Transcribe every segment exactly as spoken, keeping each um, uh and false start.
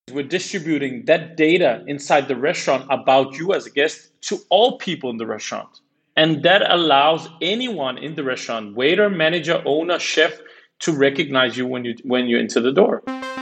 We're distributing that data inside the restaurant about you as a guest to all people in the restaurant. And that allows anyone in the restaurant, waiter, manager, owner, chef, to recognize you when you when you enter the door.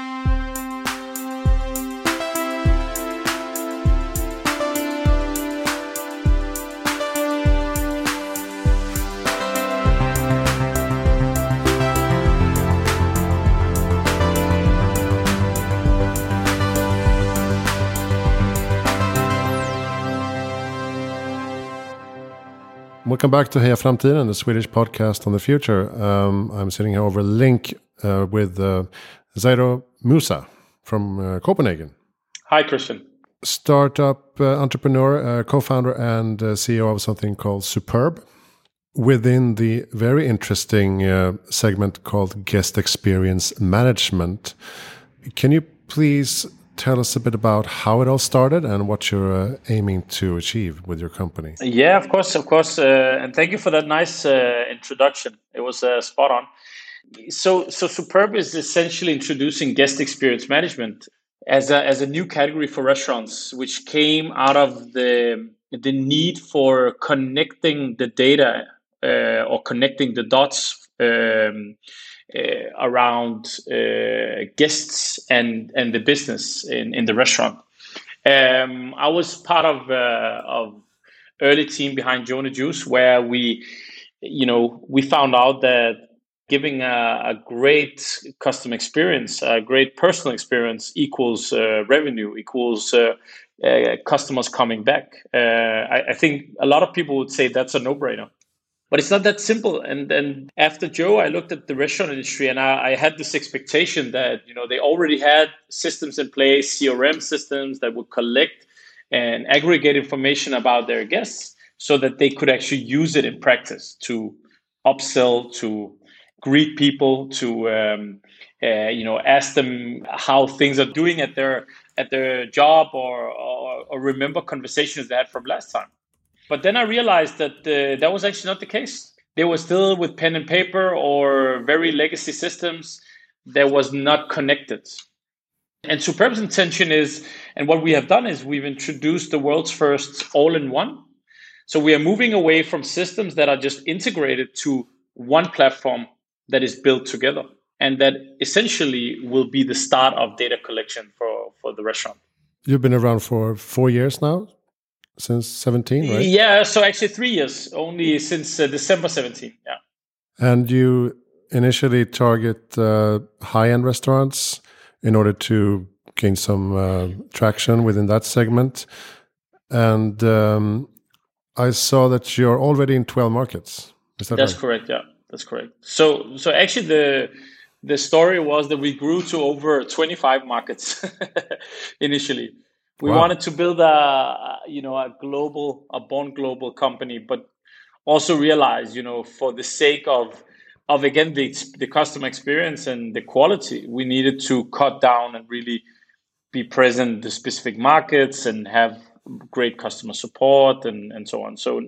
Welcome back to Heja Framtiden, the Swedish podcast on the future. Um, I'm sitting here over link uh, with uh, Zairo Musa from uh, Copenhagen. Hi, Christian. Startup uh, entrepreneur, uh, co-founder and uh, C E O of something called Superb, within the very interesting uh, segment called Guest Experience Management. Can you please tell us a bit about how it all started and what you're uh, aiming to achieve with your company? Yeah, of course, of course. Uh, and thank you for that nice uh, introduction. It was uh, spot on. So, so Superb is essentially introducing guest experience management as a, as a new category for restaurants, which came out of the, the need for connecting the data uh, or connecting the dots um, Uh, around uh, guests and and the business in, in the restaurant. Um, I was part of uh, of early team behind Jonah Juice, where we, you know, we found out that giving a, a great customer experience, a great personal experience, equals uh, revenue, equals uh, uh, customers coming back. Uh, I, I think a lot of people would say that's a no-brainer. But it's not that simple. And then after Joe, I looked at the restaurant industry, and I, I had this expectation that, you know, they already had systems in place, C R M systems that would collect and aggregate information about their guests so that they could actually use it in practice to upsell, to greet people, to um, uh, you know, ask them how things are doing at their at their job, or, or, or remember conversations they had from last time. But then I realized that uh, that was actually not the case. They were still with pen and paper or very legacy systems that was not connected. And Superb's intention is, and what we have done is we've introduced the world's first all-in-one. So we are moving away from systems that are just integrated to one platform that is built together. And that essentially will be the start of data collection for, for the restaurant. You've been around for four years now? Since seventeen, right? Yeah, so actually three years, only since uh, December seventeenth, yeah. And you initially target uh, high-end restaurants in order to gain some uh, traction within that segment. And um, I saw that you're already in twelve markets. Is that That's right? correct, yeah, that's correct. So so actually the the story was that we grew to over twenty-five markets initially. We Wow. wanted to build a, you know, a global, a born global company, but also realize, you know, for the sake of, of again, the, the customer experience and the quality, we needed to cut down and really be present in the specific markets and have great customer support and, and so on. So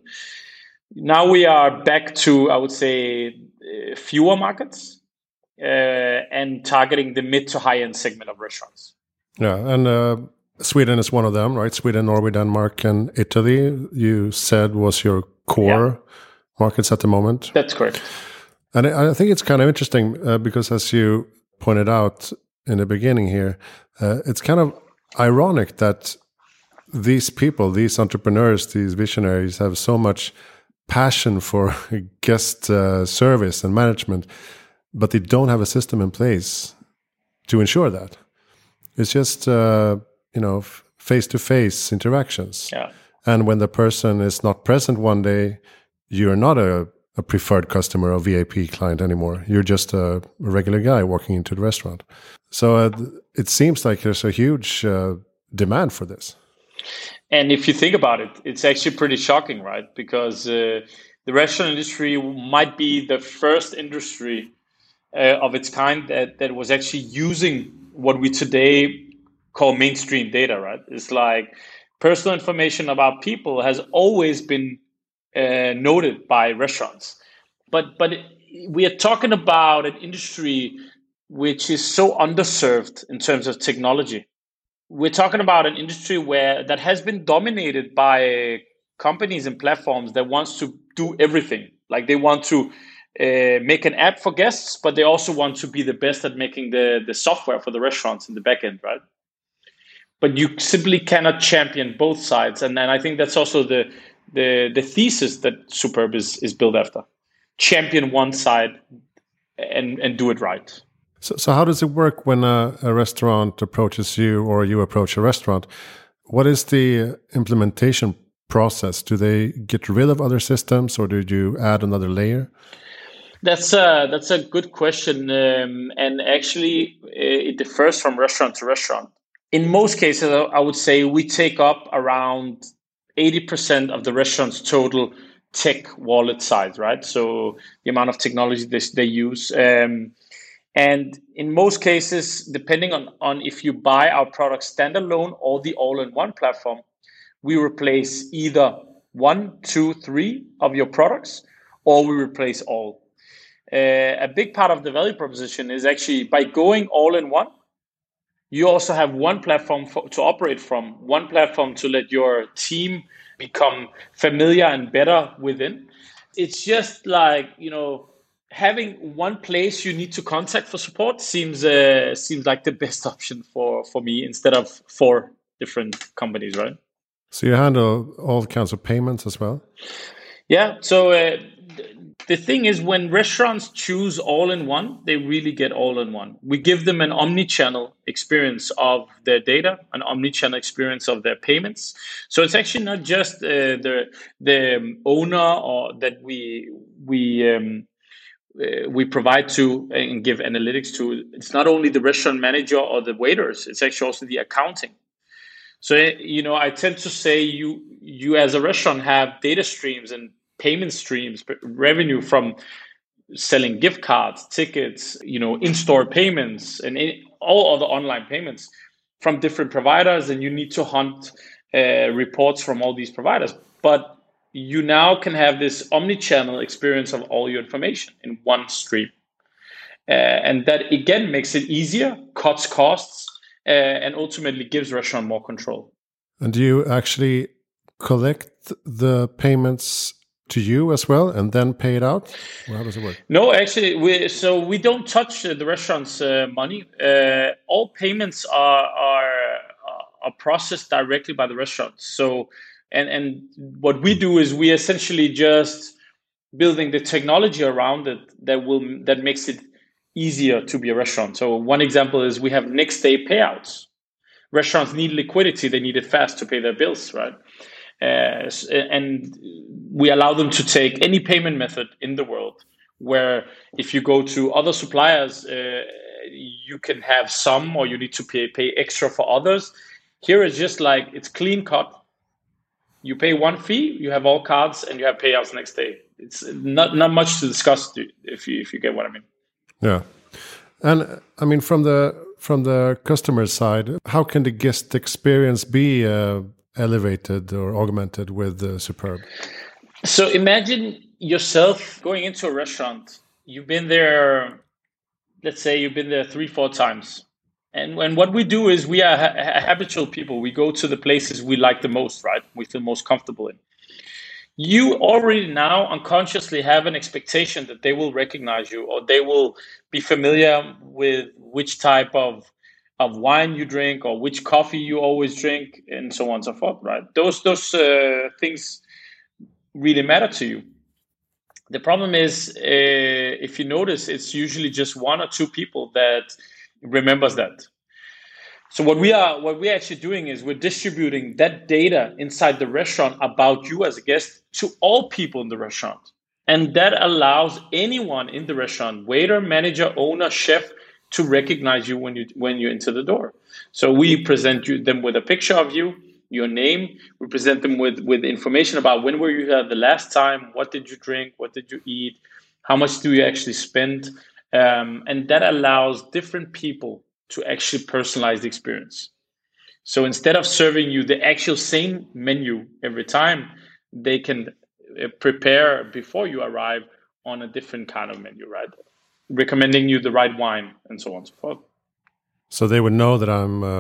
now we are back to, I would say, uh, fewer markets uh, and targeting the mid to high end segment of restaurants. Yeah, and uh, Sweden is one of them, right? Sweden, Norway, Denmark, and Italy, you said was your core yeah. markets at the moment. That's correct. And I think it's kind of interesting uh, because, as you pointed out in the beginning here, uh, it's kind of ironic that these people, these entrepreneurs, these visionaries have so much passion for guest uh, service and management, but they don't have a system in place to ensure that. It's just... Uh, you know, face-to-face interactions. Yeah. And when the person is not present one day, you're not a, a preferred customer or V I P client anymore. You're just a, a regular guy walking into the restaurant. So uh, it seems like there's a huge uh, demand for this. And if you think about it, it's actually pretty shocking, right? Because uh, the restaurant industry might be the first industry uh, of its kind that, that was actually using what we today call mainstream data, right? It's like personal information about people has always been uh, noted by restaurants. But but we are talking about an industry which is so underserved in terms of technology. we're talking about an industry where that has been dominated by companies and platforms that wants to do everything. Like they want to uh, make an app for guests, but they also want to be the best at making the, the software for the restaurants in the back end, right? But you simply cannot champion both sides. And then I think that's also the the, the thesis that Superb is, is built after. Champion one side and, and do it right. So, so how does it work when a, a restaurant approaches you or you approach a restaurant? What is the implementation process? Do they get rid of other systems or do you add another layer? That's a, that's a good question. Um, and actually, it differs from restaurant to restaurant. In most cases, I would say we take up around eighty percent of the restaurant's total tech wallet size, right? So the amount of technology they, they use. Um, and in most cases, depending on, on if you buy our product standalone or the all-in-one platform, we replace either one, two, three of your products, or we replace all. Uh, a big part of the value proposition is actually by going all-in-one, you also have one platform for, to operate from, one platform to let your team become familiar and better within. It's just like, you know, having one place you need to contact for support seems uh, seems like the best option for, for me instead of four different companies, right? So you handle all kinds of payments as well? Yeah. So uh, the thing is, when restaurants choose all-in-one, they really get all-in-one. We give them an omni-channel experience of their data, an omni-channel experience of their payments. So it's actually not just uh, the the owner or that we we um, uh, we provide to and give analytics to. It's not only the restaurant manager or the waiters. It's actually also the accounting. So you know, I tend to say you you as a restaurant have data streams and payment streams, revenue from selling gift cards, tickets, you know, in-store payments, and all other online payments from different providers, and you need to hunt uh, reports from all these providers. But you now can have this omni-channel experience of all your information in one stream. Uh, and that, again, makes it easier, cuts costs, uh, and ultimately gives restaurant more control. And do you actually collect the payments to you as well and then pay it out? Well, how does it work? No, actually, we so we don't touch uh, the restaurant's uh, money. Uh, all payments are are are processed directly by the restaurant. So, and and what we do is we essentially just building the technology around it that will that makes it easier to be a restaurant. So one example is we have next day payouts. Restaurants need liquidity; they need it fast to pay their bills, right? Uh, and we allow them to take any payment method in the world, where if you go to other suppliers, uh, you can have some or you need to pay, pay extra for others. Here it's just like, it's clean cut. You pay one fee, you have all cards, and you have payouts next day. It's not, not much to discuss if you, if you get what I mean. Yeah. And I mean, from the, from the customer side, how can the guest experience be uh, elevated or augmented with uh, Superb? So imagine yourself going into a restaurant. You've been there, let's say you've been there three, four times. And, and what we do is we are ha- habitual people. We go to the places we like the most, right? We feel most comfortable in. You already now unconsciously have an expectation that they will recognize you or they will be familiar with which type of of wine you drink or which coffee you always drink and so on and so forth, right? Those those uh, things really matter to you. The problem is, uh, if you notice, it's usually just one or two people that remembers that. So what we are what we're actually doing is we're distributing that data inside the restaurant about you as a guest to all people in the restaurant. And that allows anyone in the restaurant, waiter, manager, owner, chef, to recognize you when you when you enter the door. So we present you them with a picture of you, your name. We present them with, with information about when were you here the last time, what did you drink, what did you eat, how much do you actually spend, um, and that allows different people to actually personalize the experience. So instead of serving you the actual same menu every time, they can prepare before you arrive on a different kind of menu, right? Recommending you the right wine and so on and so forth. So they would know that I'm uh,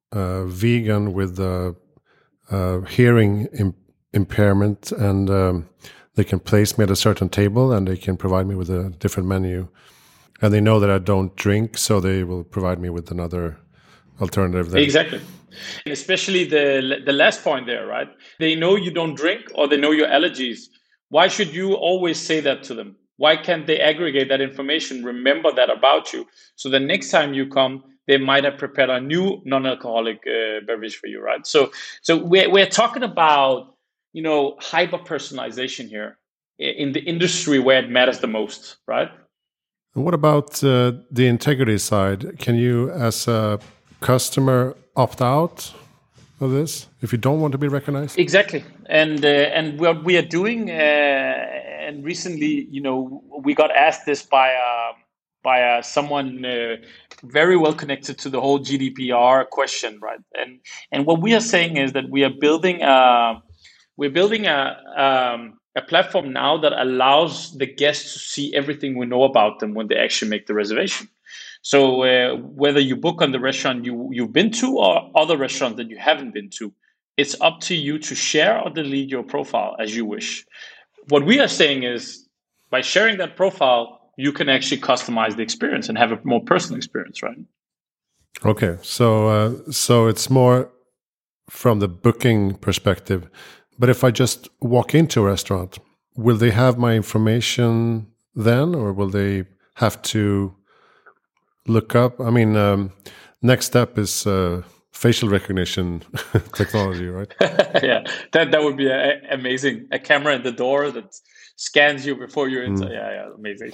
uh, vegan with uh, uh, hearing Im- impairment, and um, they can place me at a certain table, and they can provide me with a different menu. And they know that I don't drink, so they will provide me with another alternative there. Exactly. And especially the the last point there, right? They know you don't drink, or they know your allergies. Why should you always say that to them? Why can't they aggregate that information, remember that about you? So the next time you come, they might have prepared a new non-alcoholic uh, beverage for you, right? So so we're, we're talking about, you know, hyper-personalization here in the industry where it matters the most, right? And what about uh, the integrity side? Can you, as a customer, opt out of this if you don't want to be recognized? Exactly, and uh, and what we are doing, uh, and recently, you know, we got asked this by uh, by uh, someone uh, very well connected to the whole G D P R question, right? And and what we are saying is that we are building a we're building a um, a platform now that allows the guests to see everything we know about them when they actually make the reservation. So uh, whether you book on the restaurant you, you've been to or other restaurants that you haven't been to, it's up to you to share or delete your profile as you wish. What we are saying is by sharing that profile, you can actually customize the experience and have a more personal experience, right? Okay, so uh, so it's more from the booking perspective. But if I just walk into a restaurant, will they have my information then, or will they have to look up? I mean, um, next step is uh, facial recognition technology, right? Yeah, that that would be a, amazing. A camera in the door that scans you before you enter. Mm. Yeah, yeah, amazing.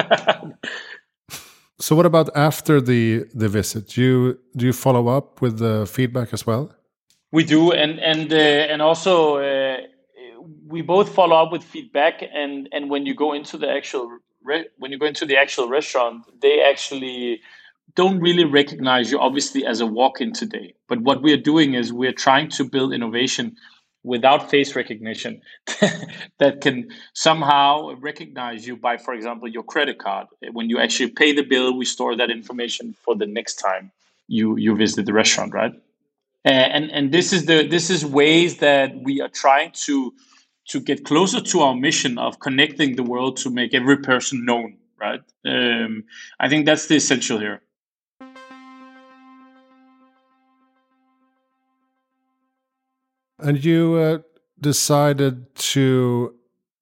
So, what about after the the visit? Do you do you follow up with the feedback as well? We do, and and uh, and also uh, we both follow up with feedback. And and when you go into the actual re- when you go into the actual restaurant, they actually don't really recognize you, obviously, as a walk-in today. But what we are doing is we're trying to build innovation without face recognition that can somehow recognize you by, for example, your credit card. When you actually pay the bill, we store that information for the next time you you visit the restaurant, right? And and this is the this is ways that we are trying to to get closer to our mission of connecting the world to make every person known, right? Um, I think that's the essential here. And you uh, decided to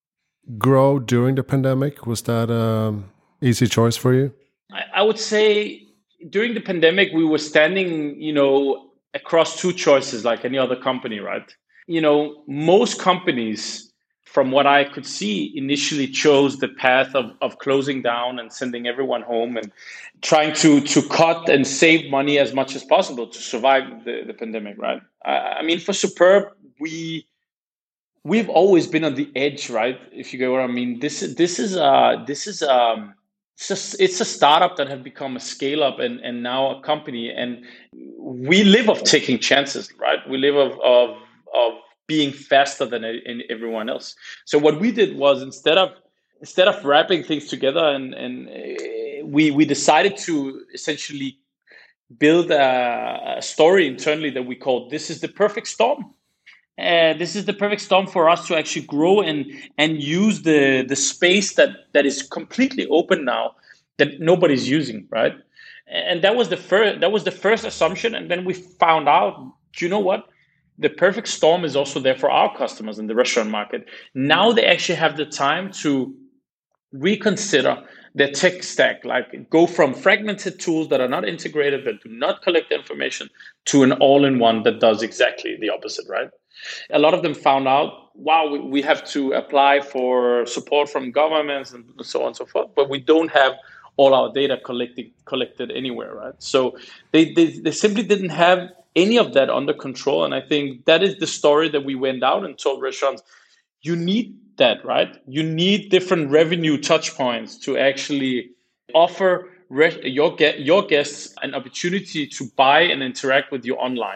grow during the pandemic. Was that an easy choice for you? I, I would say during the pandemic, we were standing, you know, across two choices like any other company, right? You know, most companies, from what I could see, initially chose the path of, of closing down and sending everyone home and trying to to cut and save money as much as possible to survive the, the pandemic, right? I, I mean, for Superb, we we've always been on the edge, right? If you get what I mean. This this is uh this is um it's just it's a startup that have become a scale up and and now a company, and we live of taking chances, right? We live of of of being faster than everyone else. So what we did was instead of instead of wrapping things together, and and we we decided to essentially build a, a story internally that we called "This is the perfect storm." And this is the perfect storm for us to actually grow and and use the the space that that is completely open now that nobody's using, right? And that was the first that was the first assumption. And then we found out, do you know what? The perfect storm is also there for our customers in the restaurant market. Now they actually have the time to reconsider their tech stack, like go from fragmented tools that are not integrated, that do not collect information, to an all-in-one that does exactly the opposite, right? A lot of them found out, wow, we, we have to apply for support from governments and so on and so forth, but we don't have all our data collected collected anywhere, right? So they, they, they simply didn't have any of that under control. And I think that is the story that we went out and told restaurants, you need that, right? You need different revenue touch points to actually offer re- your, ge- your guests an opportunity to buy and interact with you online.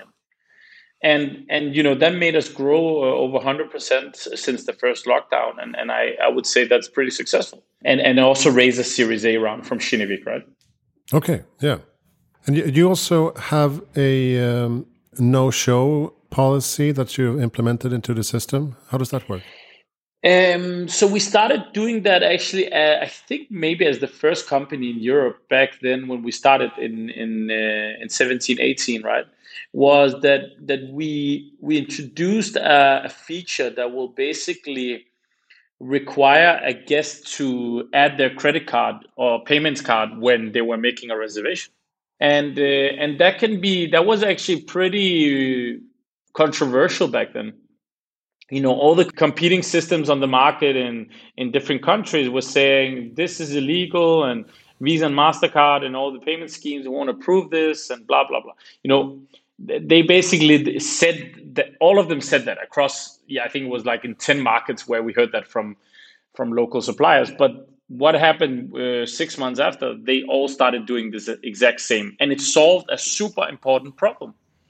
And, and you know, that made us grow uh, over one hundred percent since the first lockdown. And, and I, I would say that's pretty successful. And, and also raise a Series A round from Kinnevik, right? Okay, yeah. And you, you also have a um, no-show policy that you've implemented into the system. How does that work? Um, so we started doing that actually, uh, I think maybe as the first company in Europe back then when we started in in uh, in seventeen, eighteen, right? Was that that we we introduced a, a feature that will basically require a guest to add their credit card or payments card when they were making a reservation. And uh, and that can be that was actually pretty controversial back then. You know, all the competing systems on the market in in different countries were saying this is illegal, and Visa and MasterCard and all the payment schemes won't approve this, and blah blah blah. You know, they basically said that all of them said that across. Yeah, I think it was like in ten markets where we heard that from from local suppliers. But what happened uh, six months after? They all started doing this exact same, and it solved a super important problem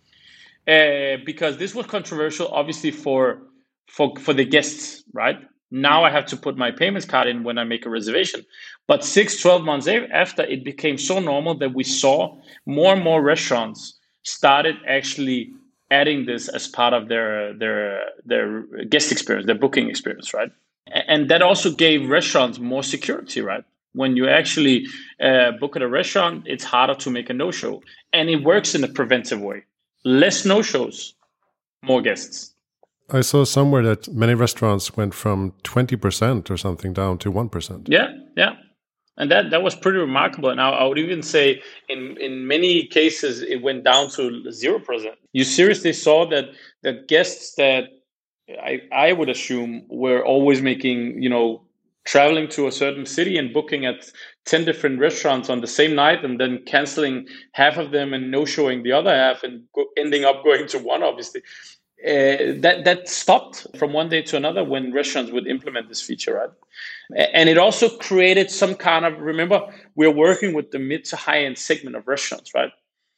uh, because this was controversial, obviously for for for the guests, right? Now I have to put my payments card in when I make a reservation. But six, twelve months after, it became so normal that we saw more and more restaurants started actually adding this as part of their their their guest experience, their booking experience, right? And that also gave restaurants more security, right? When you actually uh, book at a restaurant, it's harder to make a no-show. And it works in a preventive way. Less no-shows, more guests. I saw somewhere that many restaurants went from twenty percent or something down to one percent. Yeah, yeah. And that, that was pretty remarkable. And I, I would even say in, in many cases, it went down to zero percent. You seriously saw that that guests that I, I would assume were always making, you know, traveling to a certain city and booking at ten different restaurants on the same night and then canceling half of them and no-showing the other half and go, ending up going to one, obviously. Uh, that that stopped from one day to another when restaurants would implement this feature, right? And it also created some kind of, remember, we're working with the mid to high end segment of restaurants, right?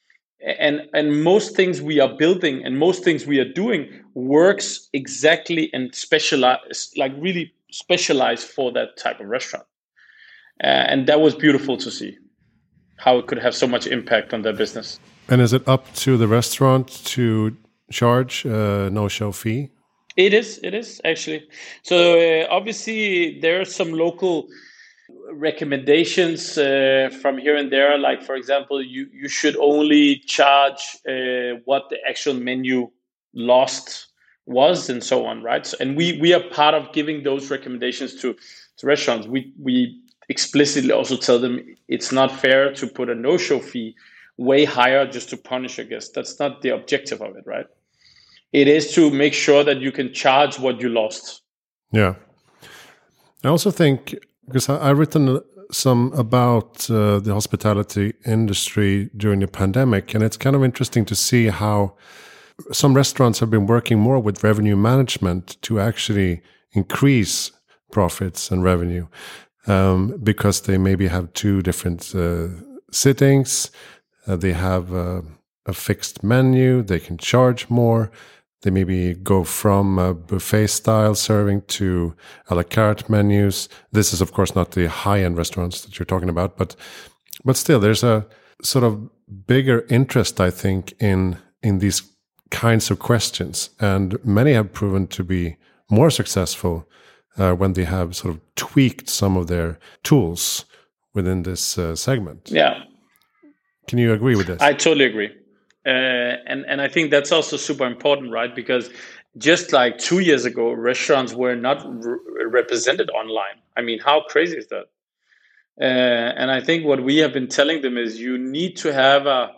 And and most things we are building and most things we are doing works exactly and specialized, like really specialized for that type of restaurant. Uh, and that was beautiful to see how it could have so much impact on their business. And is it up to the restaurant to charge a no-show fee? It is, it is actually. So uh, obviously there are some local recommendations uh, from here and there. Like, for example, you, you should only charge uh, what the actual menu lost was and so on, right? So, and we, we are part of giving those recommendations to, to restaurants. We, we explicitly also tell them it's not fair to put a no-show fee way higher just to punish a guest. That's not the objective of it, right? It is to make sure that you can charge what you lost. Yeah. I also think, because I, I've written some about uh, the hospitality industry during the pandemic, and it's kind of interesting to see how some restaurants have been working more with revenue management to actually increase profits and revenue, um, because they maybe have two different uh, sittings, uh, they have uh, a fixed menu, they can charge more. They maybe go from a buffet style serving to a la carte menus. This is, of course, not the high-end restaurants that you're talking about, but but still, there's a sort of bigger interest, I think, in in these kinds of questions, and many have proven to be more successful uh, when they have sort of tweaked some of their tools within this uh, segment. Yeah. Can you agree with this? I totally agree. Uh, and, and I think that's also super important, right? Because just like two years ago, restaurants were not re- represented online. I mean, how crazy is that? Uh, and I think what we have been telling them is you need to have a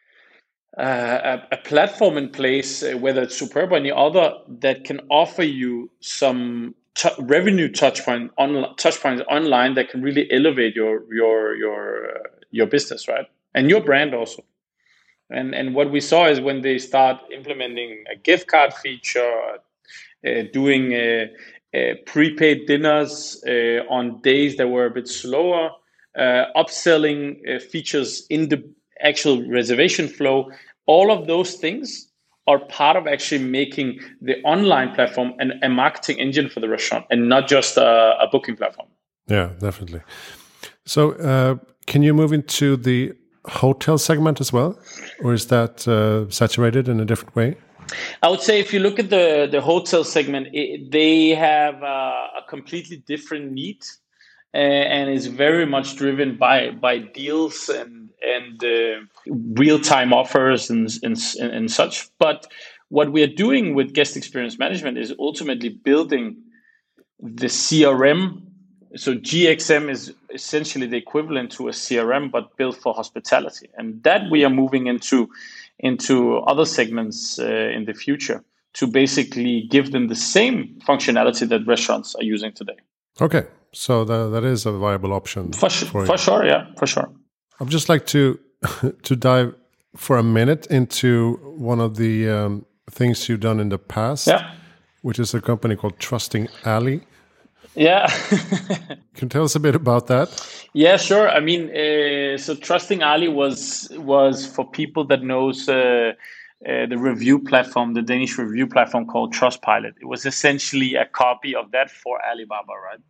a, a platform in place, uh, whether it's Superb or any other, that can offer you some t- revenue touch point on touch points online that can really elevate your your your uh, your business, right? And your brand also. And and what we saw is when they start implementing a gift card feature, uh, doing uh, uh, prepaid dinners uh, on days that were a bit slower, uh, upselling uh, features in the actual reservation flow, all of those things are part of actually making the online platform an, a marketing engine for the restaurant and not just a, a booking platform. Yeah, definitely. So uh, can you move into the hotel segment as well, or is that uh, saturated in a different way? I would say if you look at the, the hotel segment, it, they have uh, a completely different need, uh, and is very much driven by by deals and and uh, real time offers and, and and such. But what we are doing with guest experience management is ultimately building the C R M. So G X M is essentially the equivalent to a C R M, but built for hospitality, and that we are moving into into other segments uh, in the future to basically give them the same functionality that restaurants are using today. Okay, so that that is a viable option for, sh- for, for sure. Yeah, for sure. I'd just like to to dive for a minute into one of the um, things you've done in the past, yeah. which is a company called Trusting Alley. Yeah. Can you tell us a bit about that? Yeah, sure. I mean, uh, so Trusting Alley was was for people that knows uh, uh, the review platform, the Danish review platform called Trustpilot. It was essentially a copy of that for Alibaba, right?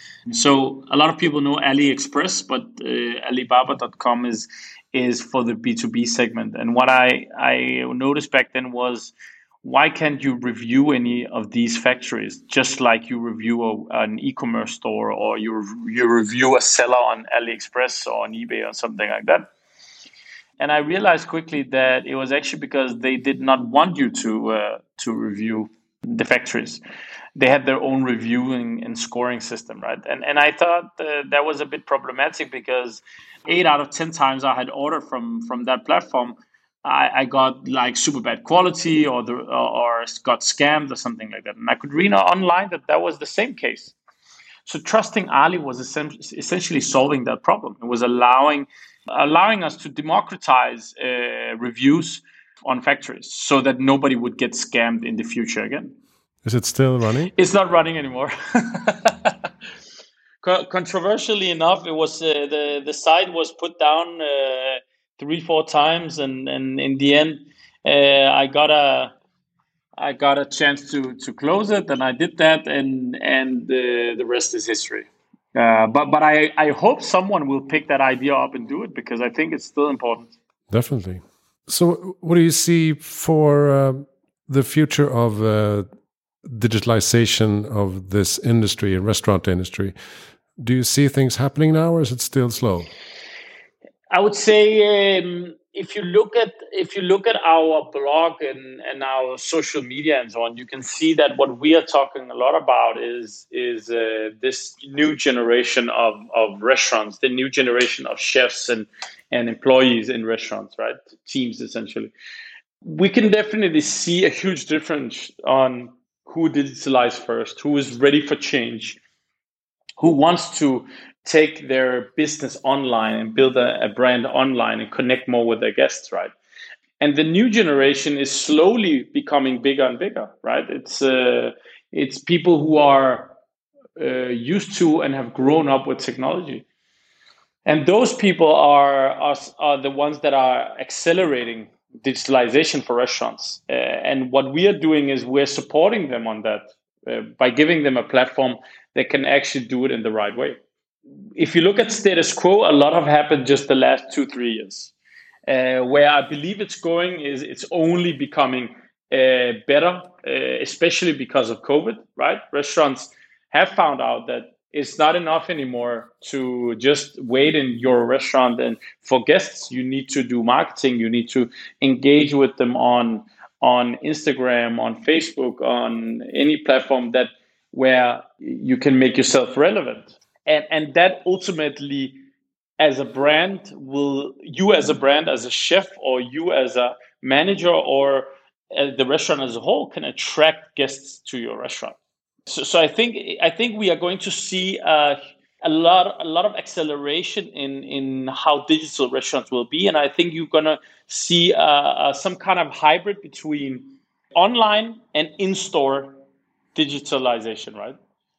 So a lot of people know AliExpress, but uh, Alibaba dot com is is for the B two B segment. And what I, I noticed back then was, why can't you review any of these factories just like you review a, an e-commerce store, or you you review a seller on AliExpress or on eBay or something like that? And I realized quickly that it was actually because they did not want you to uh, to review the factories. They had their own reviewing and scoring system, right? And and I thought uh, that was a bit problematic, because eight out of ten times I had ordered from from that platform, I, I got like super bad quality, or the or got scammed or something like that. And I could read online that that was the same case. So Trusting Alley was essentially solving that problem. It was allowing allowing us to democratize uh, reviews on factories so that nobody would get scammed in the future again. Is it still running? It's not running anymore. Co- controversially enough, it was uh, the the site was put down uh, three four times, and, and in the end, uh, I got a I got a chance to to close it, and I did that, and and the the rest is history. Uh, but but I, I hope someone will pick that idea up and do it, because I think it's still important. Definitely. So what do you see for uh, the future of uh, digitalization of this industry, and restaurant industry? Do you see things happening now, or is it still slow? I would say um, if you look at if you look at our blog and, and our social media and so on, you can see that what we are talking a lot about is is uh, this new generation of, of restaurants, the new generation of chefs and, and employees in restaurants, right? Teams, essentially. We can definitely see a huge difference on who digitalized first, who is ready for change, who wants to take their business online and build a, a brand online and connect more with their guests, right? And the new generation is slowly becoming bigger and bigger, right? It's uh, it's people who are uh, used to and have grown up with technology. And those people are, are, are the ones that are accelerating digitalization for restaurants. Uh, and what we are doing is we're supporting them on that uh, by giving them a platform that can actually do it in the right way. If you look at status quo, a lot have happened just the last two, three years. Uh, where I believe it's going is it's only becoming uh, better, uh, especially because of COVID, right? Restaurants have found out that it's not enough anymore to just wait in your restaurant. And for guests, you need to do marketing. You need to engage with them on, on Instagram, on Facebook, on any platform that where you can make yourself relevant. And, and that ultimately, as a brand, will you as a brand, as a chef, or you as a manager, or as the restaurant as a whole, can attract guests to your restaurant. So, so I think I think we are going to see uh, a lot a lot of acceleration in in how digital restaurants will be, and I think you're going to see uh, uh, some kind of hybrid between online and in-store digitalization, right?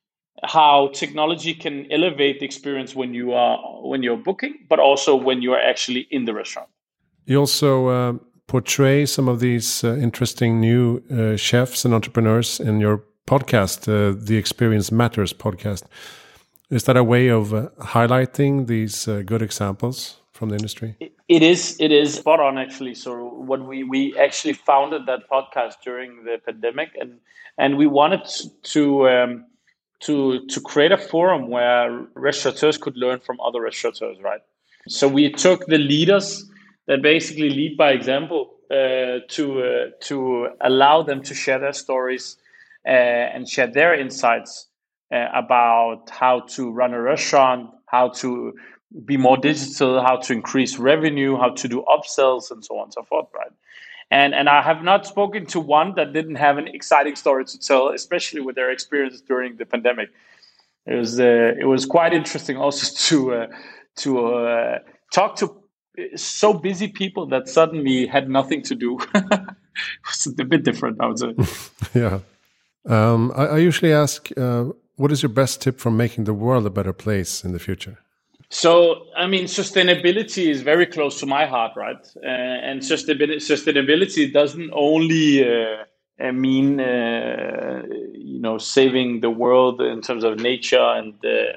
How technology can elevate the experience when you are when you're booking, but also when you are actually in the restaurant. You also uh, portray some of these uh, interesting new uh, chefs and entrepreneurs in your podcast, uh, the Experience Matters podcast. Is that a way of uh, highlighting these uh, good examples from from the industry? It is. It is spot on, actually. So when we, we actually founded that podcast during the pandemic, and and we wanted to um, to to create a forum where restaurateurs could learn from other restaurateurs, right? So we took the leaders that basically lead by example uh, to uh, to allow them to share their stories uh, and share their insights uh, about how to run a restaurant, how to be more digital, how to increase revenue, how to do upsells, and so on and so forth, right? And and I have not spoken to one that didn't have an exciting story to tell, especially with their experience during the pandemic. It was uh, it was quite interesting also to uh, to uh, talk to so busy people that suddenly had nothing to do. It's a bit different, I would say. Yeah. Um, I, I usually ask, uh, what is your best tip for making the world a better place in the future? So, I mean, sustainability is very close to my heart, right? Uh, and sustainability, sustainability doesn't only uh, uh, mean, uh, you know, saving the world in terms of nature and uh,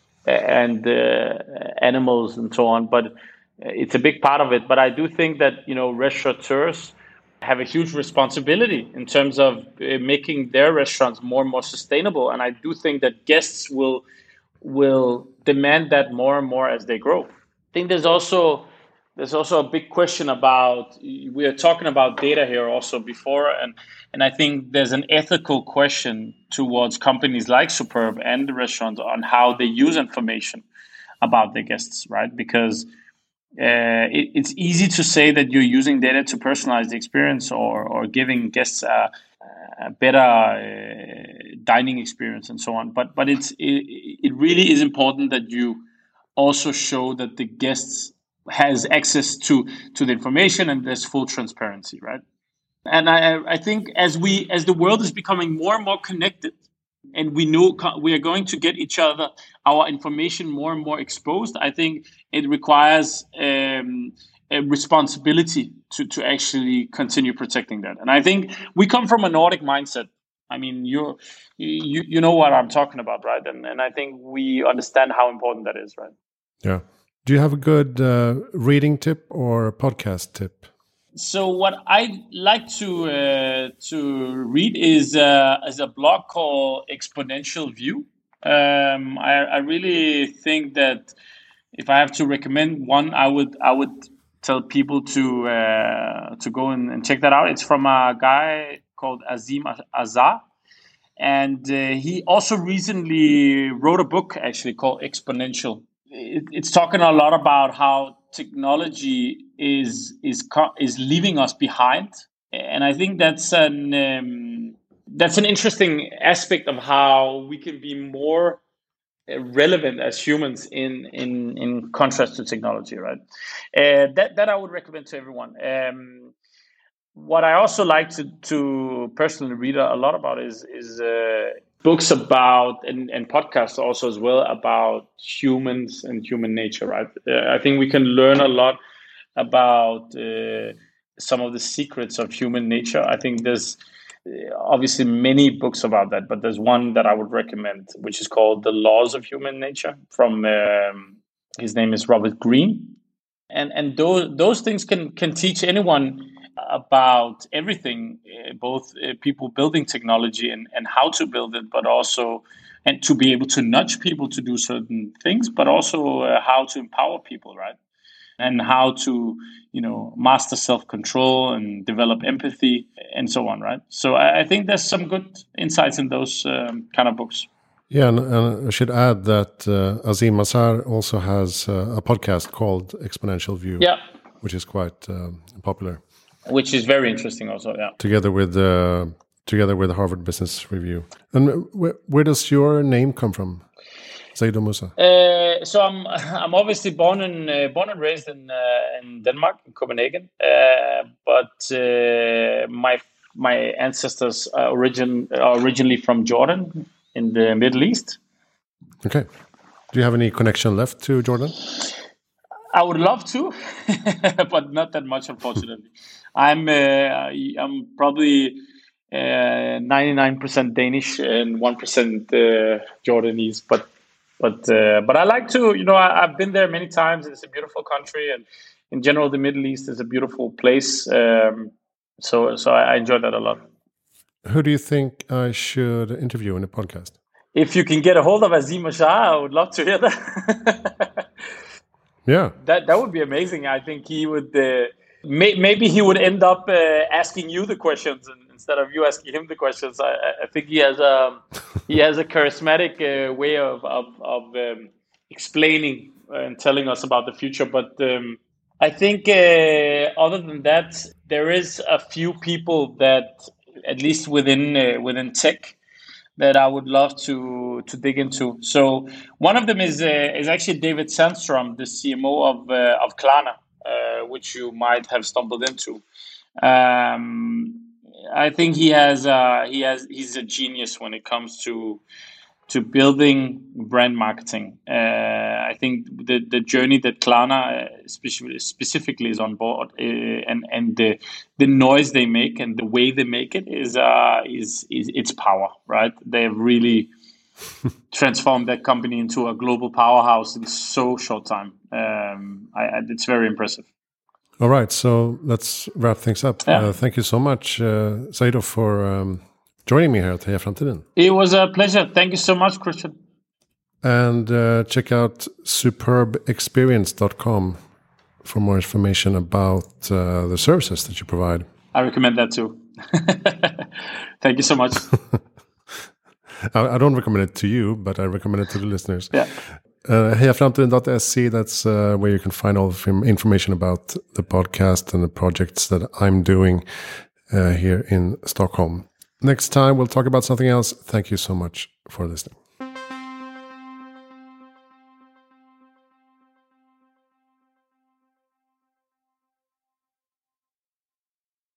and uh, animals and so on, but it's a big part of it. But I do think that, you know, restaurateurs have a huge responsibility in terms of uh, making their restaurants more and more sustainable. And I do think that guests will will demand that more and more as they grow. I think there's also there's also a big question about, we are talking about data here also before, and and I think there's an ethical question towards companies like Superb and the restaurants on how they use information about their guests, right? Because uh, it, it's easy to say that you're using data to personalize the experience, or or giving guests a, a better uh, dining experience and so on. But but it's it, it really is important that you also show that the guests has access to to the information and there's full transparency, right? And I I think as we as the world is becoming more and more connected, and we know we are going to get each other our information more and more exposed, I think it requires um, a responsibility to to actually continue protecting that. And I think we come from a Nordic mindset. I mean, you you you know what I'm talking about, right? And and I think we understand how important that is, right? Yeah. Do you have a good uh, reading tip or podcast tip? So what I like to uh, to read is uh, is a blog called Exponential View. Um, I, I really think that if I have to recommend one, I would I would tell people to uh, to go and, and check that out. It's from a guy called Azeem Azhar, and uh, he also recently wrote a book actually called Exponential. It, it's talking a lot about how technology is is is leaving us behind, and I think that's an um, that's an interesting aspect of how we can be more relevant as humans in in in contrast to technology, right? Uh, that that I would recommend to everyone. Um, what I also like to to personally read a lot about is is uh, books about and, and podcasts also as well about humans and human nature, right? Uh, I think we can learn a lot about uh, some of the secrets of human nature. I think there's uh, obviously many books about that, but there's one that I would recommend, which is called The Laws of Human Nature, from um, his name is Robert Greene. And and those those things can can teach anyone about everything, uh, both uh, people building technology and, and how to build it, but also and to be able to nudge people to do certain things, but also uh, how to empower people, right? And how to, you know, master self-control and develop empathy and so on, right? So I, I think there's some good insights in those um, kind of books. Yeah, and, and I should add that uh, Azeem Azhar also has uh, a podcast called Exponential View, yeah, which is quite um, popular. Which is very interesting, also. Yeah, together with uh, together with Harvard Business Review. And wh where does your name come from, Zaidoo Musa? Uh, so I'm I'm obviously born in uh, born and raised in uh, in Denmark, in Copenhagen, uh, but uh, my my ancestors are origin are originally from Jordan in the Middle East. Okay. Do you have any connection left to Jordan? I would love to, but not that much, unfortunately. I'm uh, I'm probably uh, ninety-nine percent Danish and one percent uh, Jordanese, but But uh, but I like to, you know, I, I've been there many times. It's a beautiful country, and in general, the Middle East is a beautiful place. Um, so so I, I enjoy that a lot. Who do you think I should interview in the podcast? If you can get a hold of Azeem Ashar, I would love to hear that. Yeah, that that would be amazing. I think he would. Uh, may, maybe he would end up uh, asking you the questions and, instead of you asking him the questions. I, I think he has a he has a charismatic uh, way of of, of um, explaining and telling us about the future. But um, I think uh, other than that, there is a few people that, at least within uh, within tech, that I would love to to dig into. So one of them is uh, is actually David Sandstrom, the C M O of uh, of Klarna, uh, which you might have stumbled into. Um, I think he has uh, he has he's a genius when it comes to to building brand marketing. Uh, I think the, the journey that Klarna specifically, specifically is on board, uh, and and the the noise they make and the way they make it is uh, is is its power, right? They've really transformed that company into a global powerhouse in so short time. Um, I, I, it's very impressive. All right, so let's wrap things up. Yeah. Uh, thank you so much, uh, Saido, for um, joining me here at Heja Framtiden. It was a pleasure. Thank you so much, Christian. And uh, check out superb experience dot com for more information about uh, the services that you provide. I recommend that too. Thank you so much. I, I don't recommend it to you, but I recommend it to the listeners. Yeah. Uh, heja framtiden dot se, that's uh, where you can find all the information about the podcast and the projects that I'm doing uh, here in Stockholm. Next time, we'll talk about something else. Thank you so much for listening.